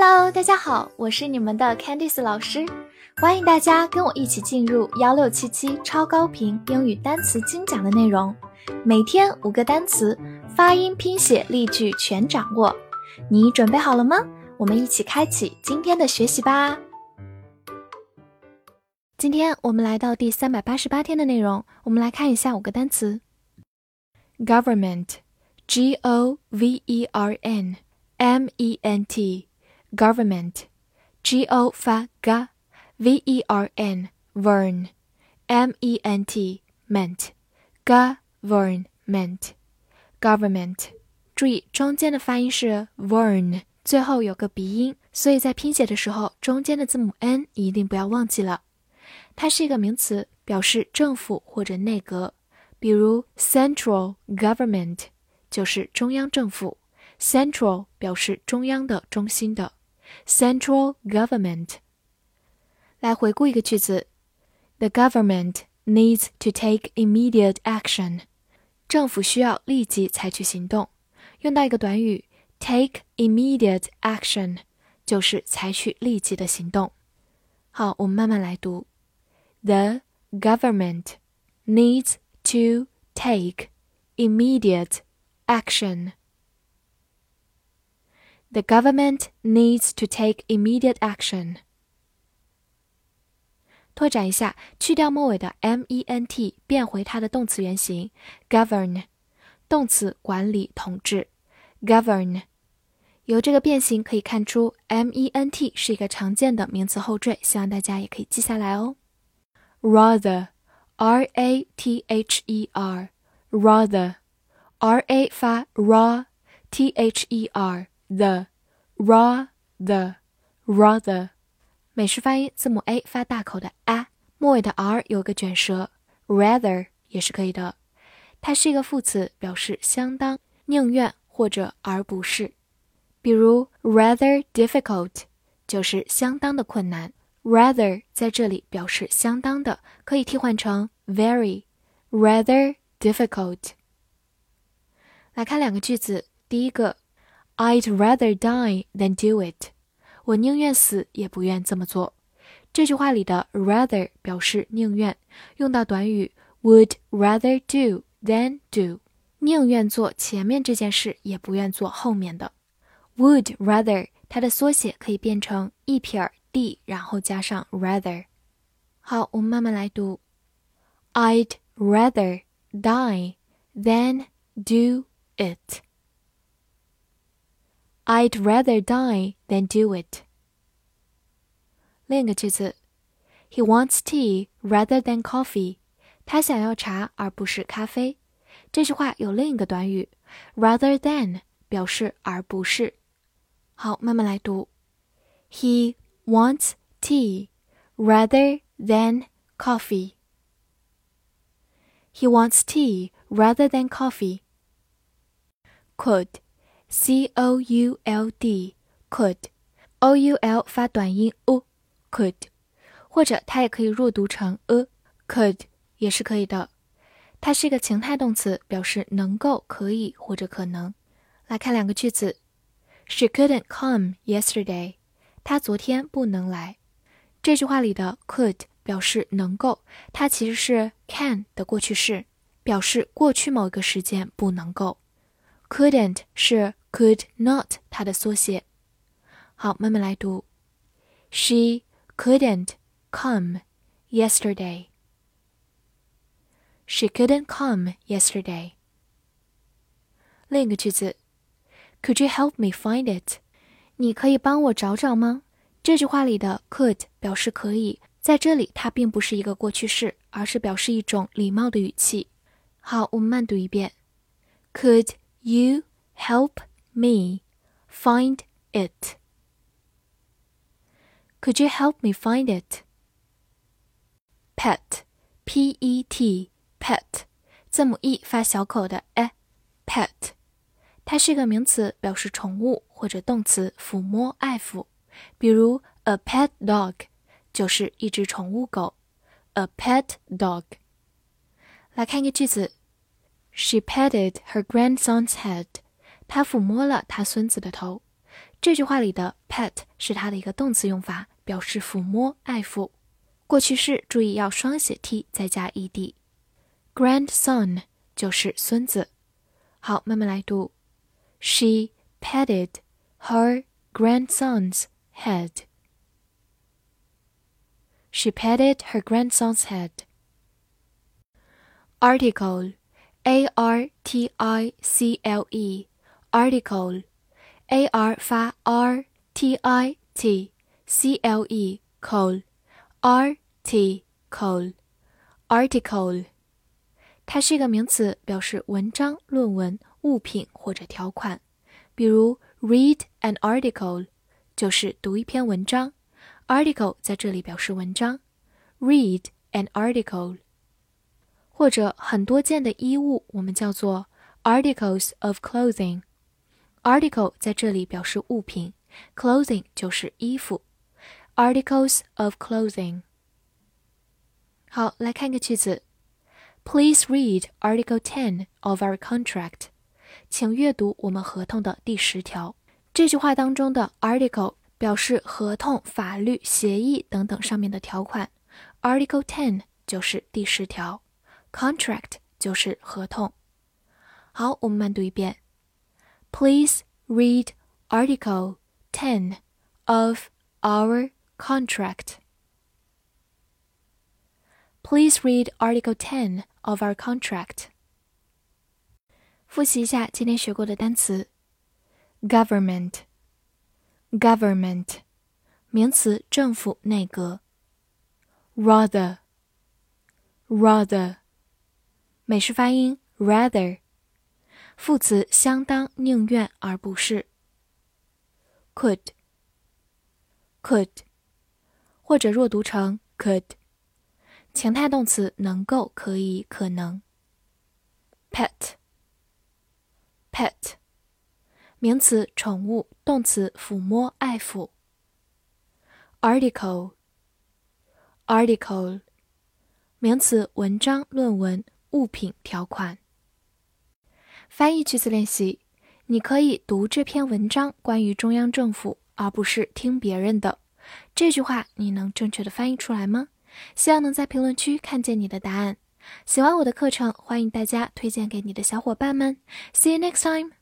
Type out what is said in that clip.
Hello， 大家好，我是你们的 Candice 老师，欢迎大家跟我一起进入1677超高频英语单词精讲的内容，每天5个单词，发音、拼写、例句全掌握。你准备好了吗？我们一起开启今天的学习吧。今天我们来到第388天的内容，我们来看一下5个单词。Government, G-O-V-E-R-N, M-E-N-T, Government, G-O 发 G, V-E-R-N, Vern, M-E-N-T, Ment, Government, Government. 注意中间的发音是 Vern， 最后有个鼻音，所以在拼写的时候中间的字母 N 一定不要忘记了。它是一个名词，表示政府或者内阁，比如 Central Government 就是中央政府， Central 表示中央的、中心的， Central Government。 来回顾一个句子， The government needs to take immediate action， 政府需要立即采取行动，用到一个短语 take immediate action 就是采取立即的行动。好，我们慢慢来读。The government needs to take immediate action. The government needs to take immediate action. 拓展一下，去掉末尾的 ment， 变回它的动词原形 govern， 动词管理、统治 govern。 由这个变形可以看出 ment 是一个常见的名词后缀，希望大家也可以记下来哦。Rather, R-A-T-H-E-R, rather, R-A 发 ra, T-H-E-R, the, rather, rather. 美式发音字母 A 发大口的 a， 末尾的 R 有个卷舌 rather 也是可以的。它是一个副词，表示相当、宁愿或者而不是。比如 rather difficult 就是相当的困难， rather 在这里表示相当的，可以替换成 very, rather difficult。 来看两个句子，第一个 I'd rather die than do it， 我宁愿死也不愿这么做。这句话里的 rather 表示宁愿，用到短语 would rather do than do， 宁愿做前面这件事也不愿做后面的。 would rather 它的缩写可以变成一撇 d 然后加上 rather。 好，我们慢慢来读。 I'd rather die than do it. I'd rather die than do it. 另一个句子 He wants tea rather than coffee. 他想要茶而不是咖啡。这句话有另一个短语 rather than 表示而不是。好，慢慢来读。 He wants tea rather than coffee. He wants tea rather than coffee. Could, C-O-U-L-D, could, O-U-L 发短音 u, could， 或者它也可以弱读成 could 也是可以的。它是一个情态动词，表示能够、可以或者可能。来看两个句子。 She couldn't come yesterday. 她昨天不能来。这句话里的 could 表示能够，它其实是 can 的过去式，表示过去某一个时间不能够。 couldn't 是 could not 它的缩写。好，慢慢来读。 She couldn't come yesterday. She couldn't come yesterday. 另一个句子 Could you help me find it? 你可以帮我找找吗？这句话里的 could 表示可以，在这里它并不是一个过去式，而是表示一种礼貌的语气。好，我们慢读一遍。 Could you help me find it? Could you help me find it? Pet, P-E-T, pet, 字母 e 发小口的 pet， 它是一个名词，表示宠物，或者动词抚摸、爱抚。比如 a pet dog 就是一只宠物狗 a pet dog。 来看一个句子 She patted her grandson's head. 她抚摸了她孙子的头。 这句话里的 pet 是它的一个动词用法，表示抚摸、爱抚。过去式注意要双写 t 再加 ed。grandson 就是孙子。好，慢慢来读。She petted her grandson's head. She petted her grandson's head. Article, A-R-T-I-C-L-E, article, A-R 发 R-T-I-T, C-L-E, col, R-T, col, article. 它是一个名词，表示文章、论文、物品或者条款。比如 read an article 就是读一篇文章， article 在这里表示文章。read an article。 或者很多件的衣物我们叫做 articles of clothing。 article 在这里表示物品， clothing 就是衣服。 articles of clothing。 好，来看一个句子。Please read Article 10 of our contract. 请阅读我们合同的第10条。这句话当中的 article 表示合同、法律、协议等等上面的条款。Article 10 就是第10条。Contract 就是合同。好，我们慢读一遍。Please read Article 10 of our contract.Please read Article 10 of our contract. 复习一下今天学过的单词。Government, government, 名词，政府、内阁。Rather, rather, 美式发音 rather， 副词，相当、宁愿而不是。Could, could, 或者弱读成 could。情态动词，能够、可以、可能。Pet, pet, 名词，宠物，动词，抚摸、爱抚。Article, article, 名词，文章、论文、物品、条款。翻译句子练习，你可以读这篇文章关于中央政府，而不是听别人的。这句话你能正确的翻译出来吗？希望能在评论区看见你的答案。喜欢我的课程，欢迎大家推荐给你的小伙伴们。See you next time!